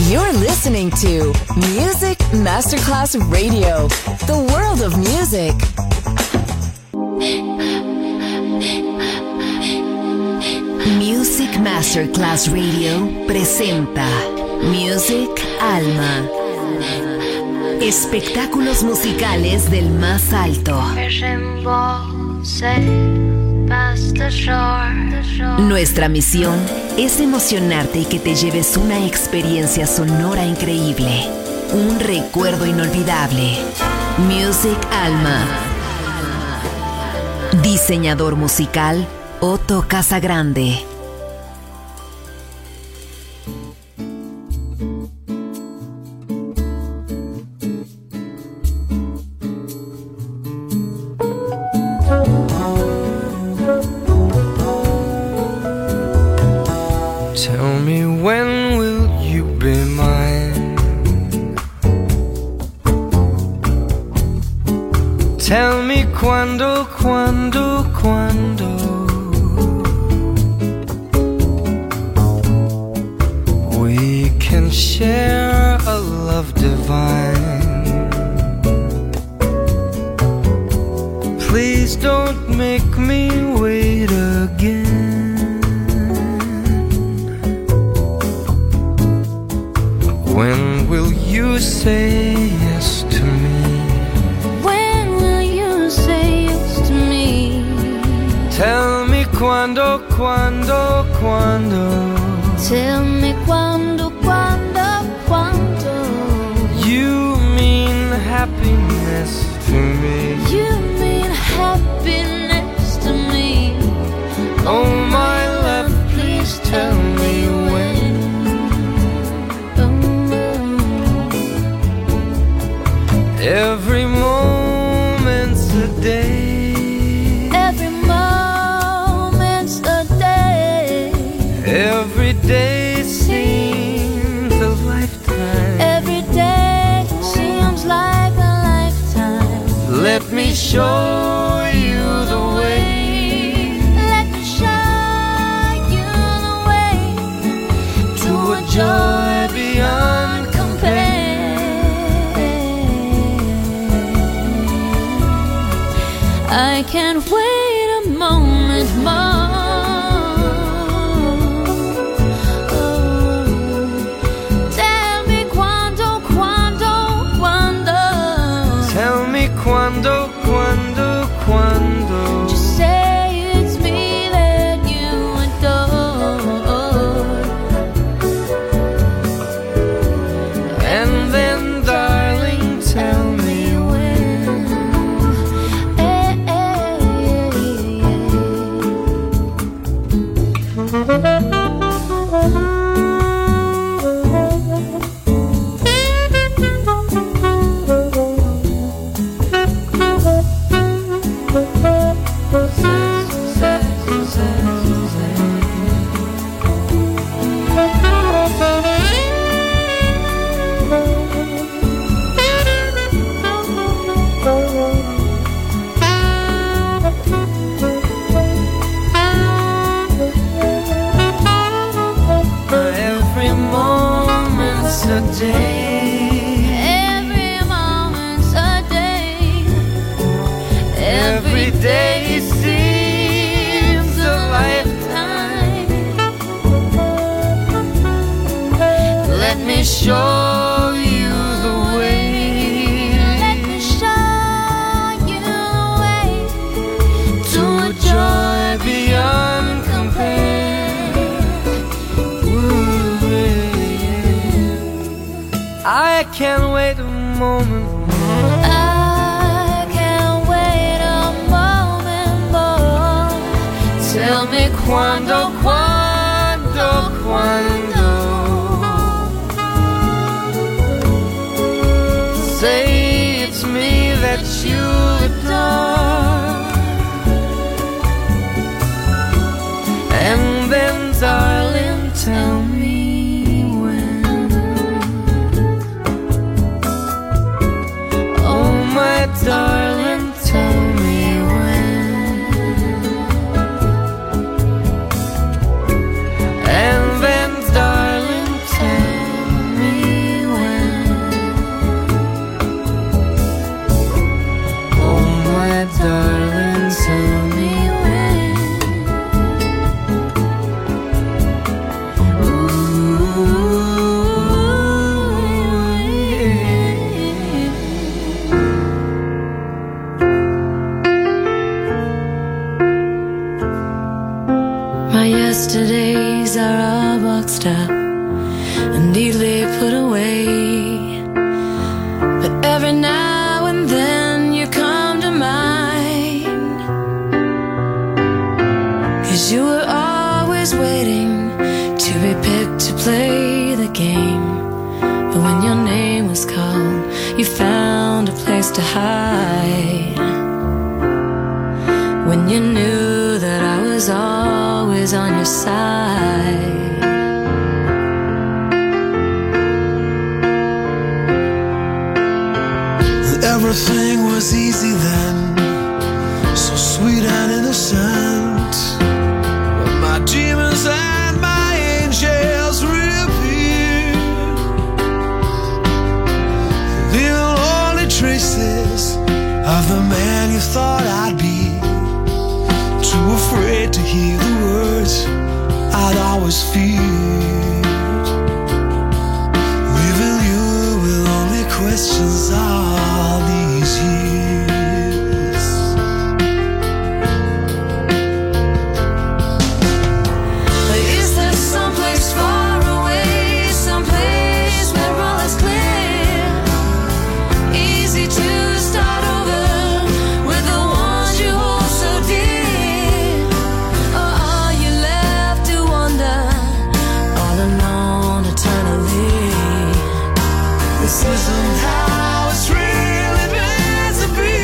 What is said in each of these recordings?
You're listening to Music Masterclass Radio, the world of music. Music Masterclass Radio presenta Music Alma. Espectáculos musicales del más alto. Nuestra misión es emocionarte y que te lleves una experiencia sonora increíble, un recuerdo inolvidable. Music Alma. Diseñador musical Otto Casagrande. Tell me, when will you be mine? Tell me quando, quando, quando we can share a love divine. Please don't make me wait again. When will you say yes to me? When will you say yes to me? Tell me quando, quando, quando. Tell me quando, quando, quando. You mean happiness to me. You mean happiness to me. Oh my love, please tell me when. Every moment's a day. Every moment's a day. Every day seems a lifetime. Every day seems like a lifetime. Let me show you the way. Let me show you the way to a joy beyond compare. I can't wait a moment more. Tell me quando, quando, quando. Tell me quando, quando, quando. Just say it's me that you adore. And then, darling, tell me when. Every moment's a day. Every moment's a day. Every day seems a lifetime. Let me show you the way. Let me show you the way to a joy beyond compare. Ooh, yeah. I can't wait a moment more. I can't wait a moment more. Tell me quando, quando, quando. Say it's me that you adore. And then, darling, tell me when. Oh, my darling, tell me when. And then, and neatly put away. But every now and then you come to mind, 'cause you were always waiting to be picked to play the game. But when your name was called, you found a place to hide. When you knew that I was always on your side. Everything was easy then, so sweet and innocent. But my demons and my angels reappeared, leaving only traces of the man you thought I'd be. Too afraid to hear the words I'd always feared, leaving you with only questions all these years. But is there someplace far away, someplace where all is clear, easy to start over with the ones you hold so dear? Or are you left to wander all alone eternally? This isn't how it's really meant to be.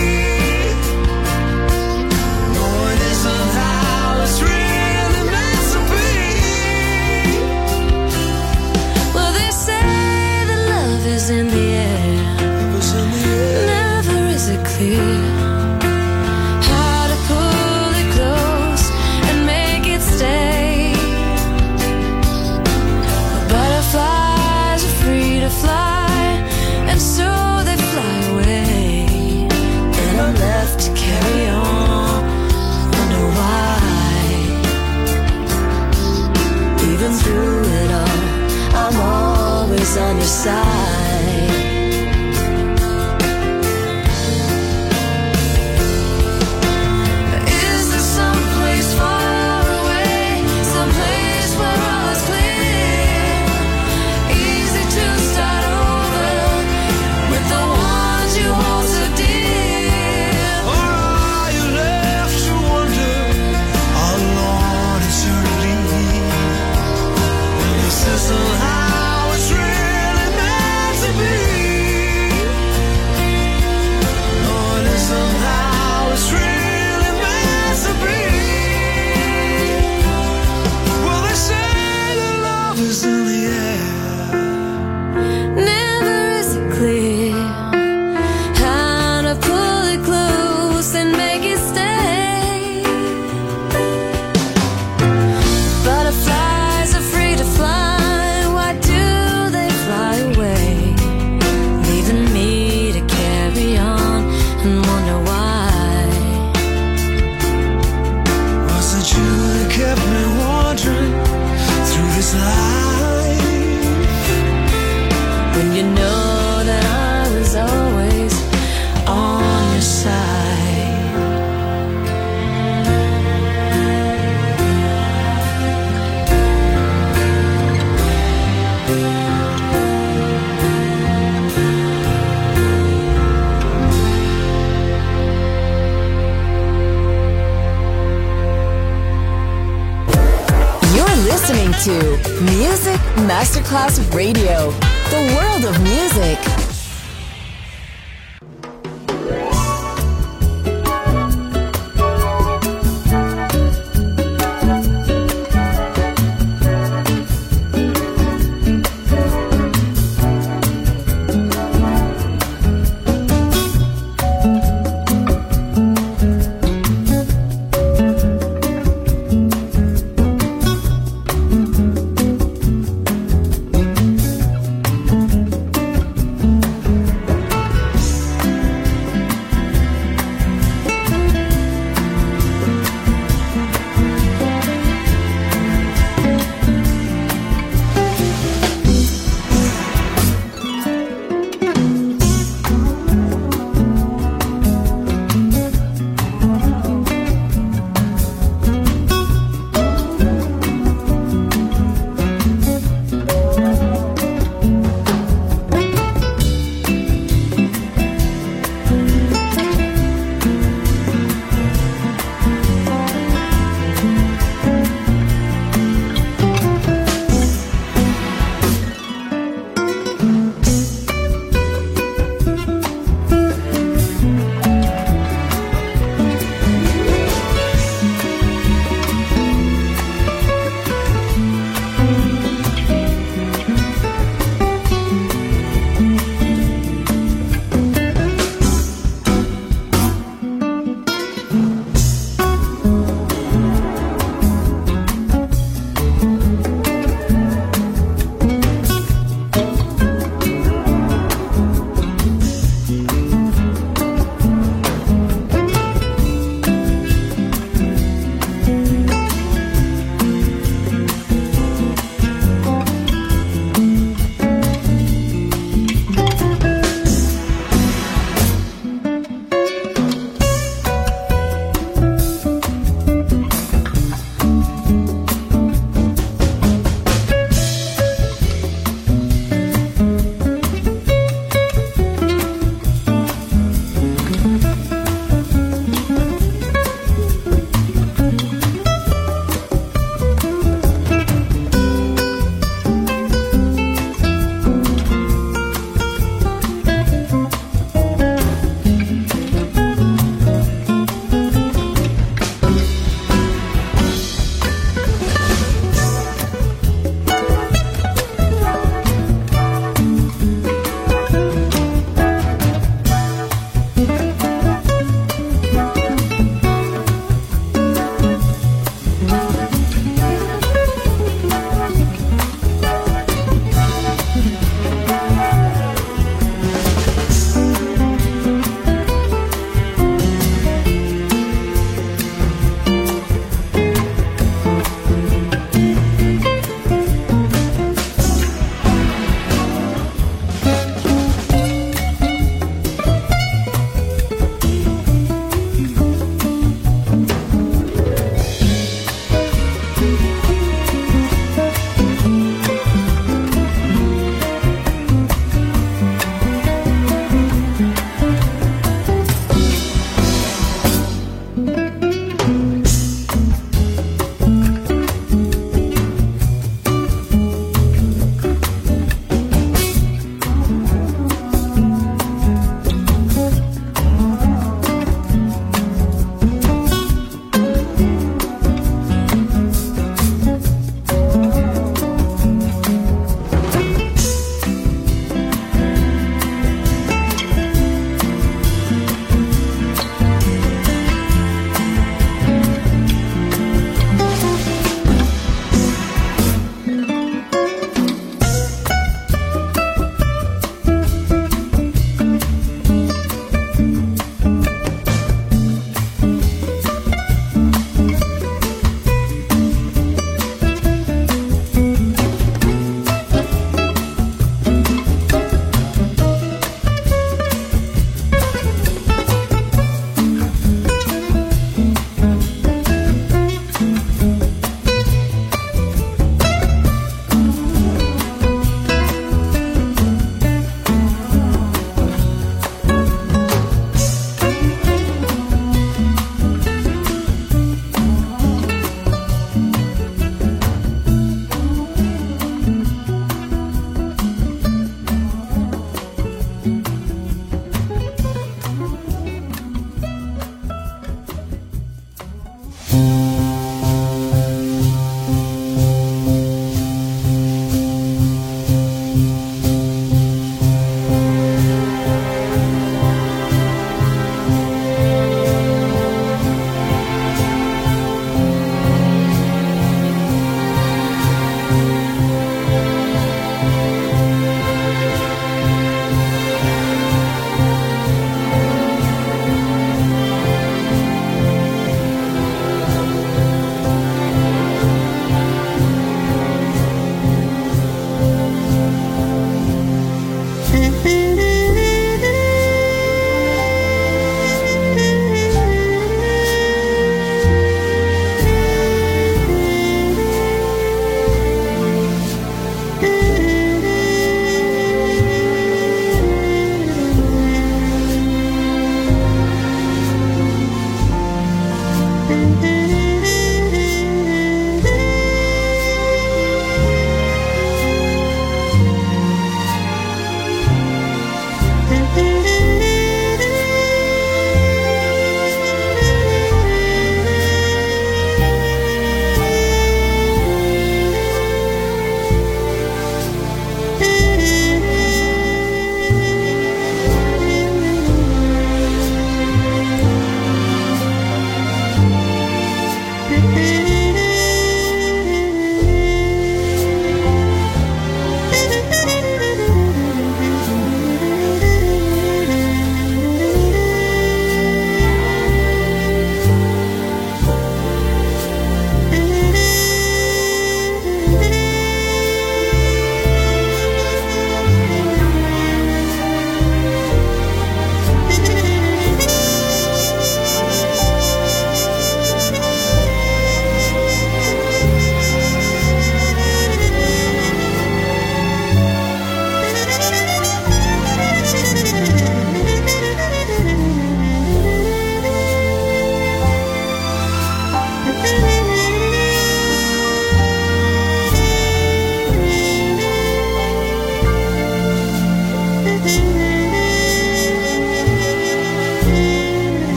No, it isn't how it's really meant to be. Well, they say that love is in the air, It was in the air. never is it clear how to pull it close and make it stay. Butterflies are free to fly, and so they fly away, and I'm left to carry on, wonder why. Even through it all, I'm always on your side. Is there someplace far away, someplace where all is clear, easy to start over with the ones you hold so dear? Or are you left to wonder alone eternally? This isn't how it's really meant to be. No, it isn't how it's really meant to be. Well, they say that love is in the air. Never is it clear how to pull it close and make it stay. Butterflies are free to fly, why do they fly away? Leaving me to carry on and wonder why. Was it you that kept me wandering through this life? When you know that I was always on your side. You're listening to Music Masterclass Radio, the world of music.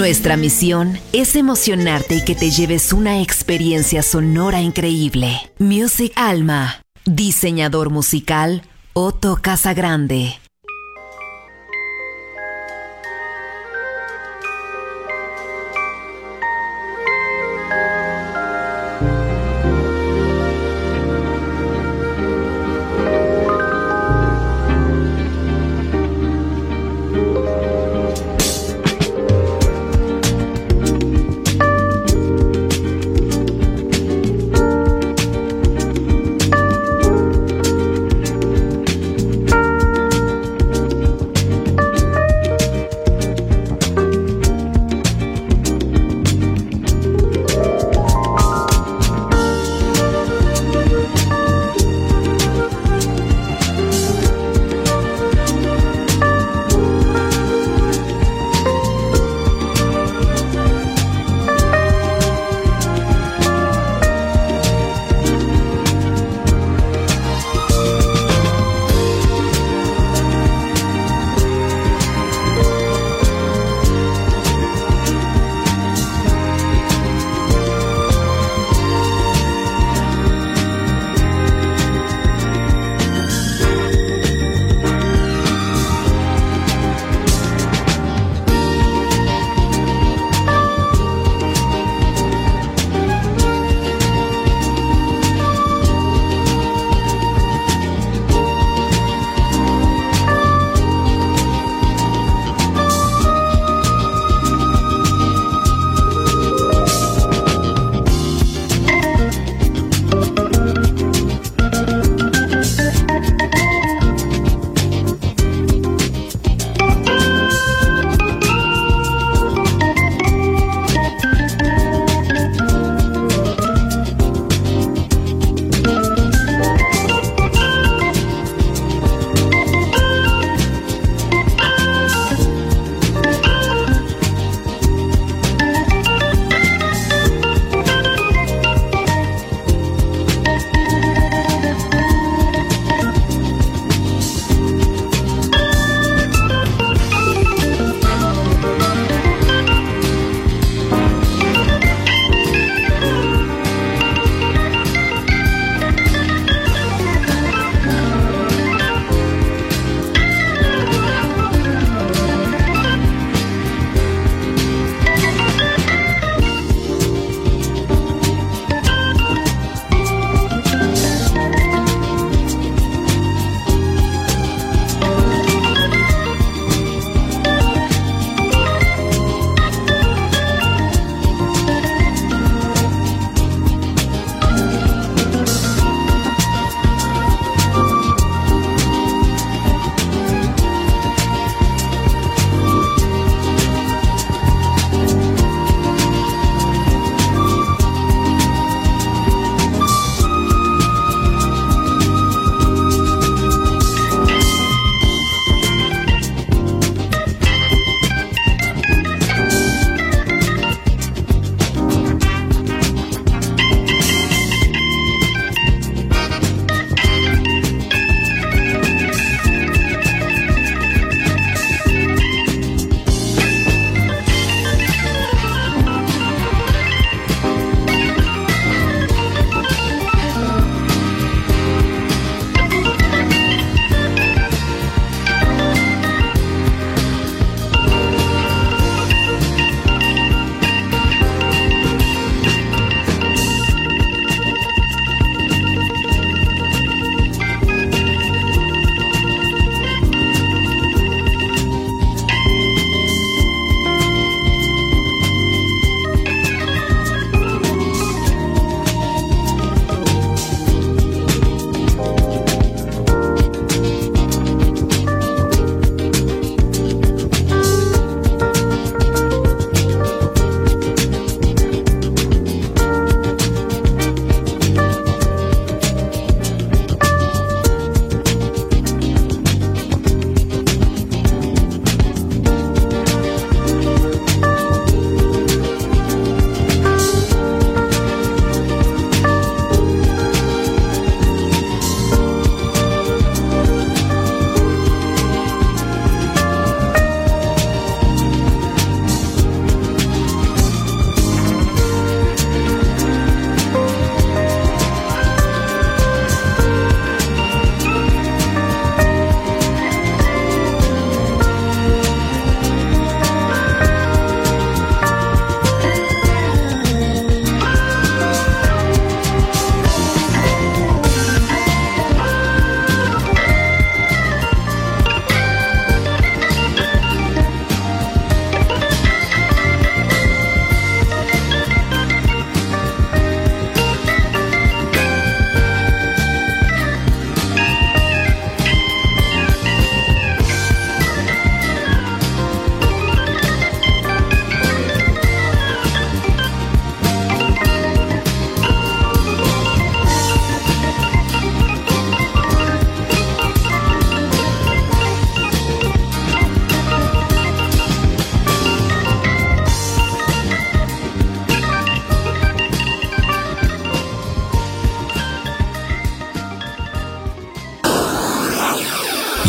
Nuestra misión es emocionarte y que te lleves una experiencia sonora increíble. Music Alma. Diseñador musical, Otto Casagrande.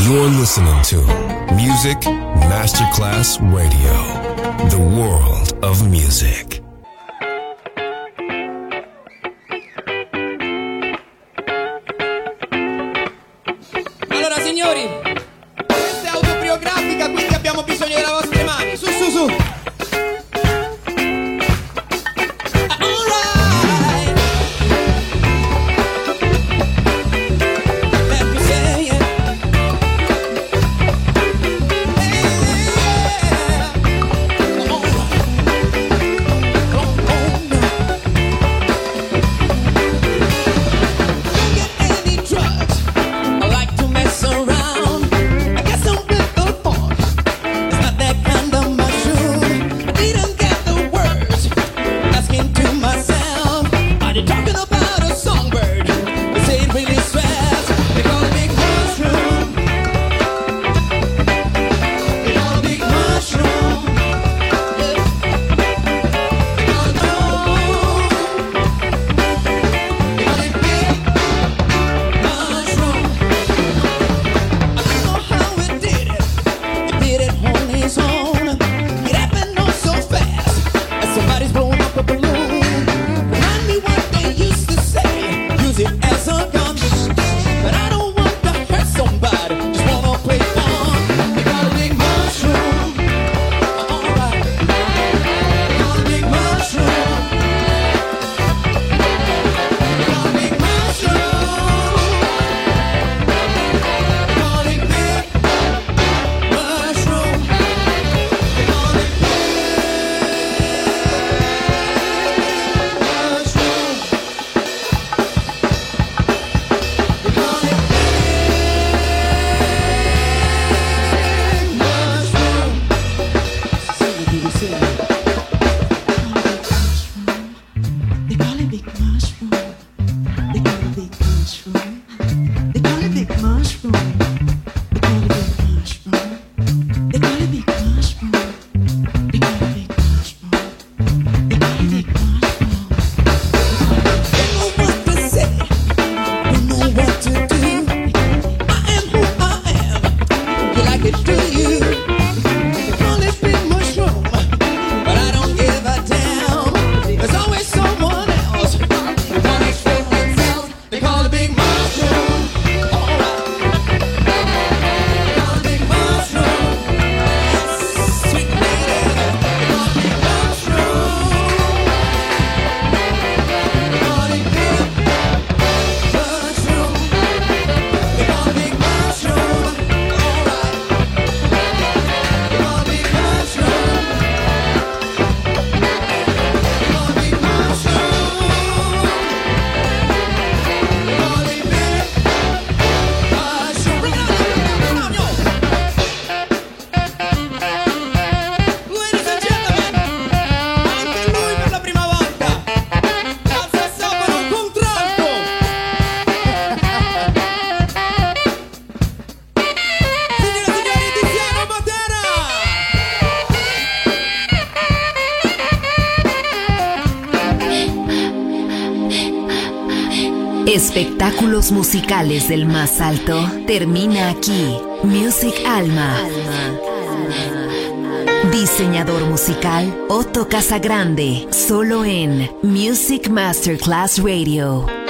You're listening to Music Masterclass Radio, the world of music. Allora signori, questa è autobiografica, quindi abbiamo bisogno delle vostre mani. Su, su, su. Espectáculos musicales del más alto termina aquí. Music Alma. Diseñador musical Otto Casagrande, solo en Music Masterclass Radio.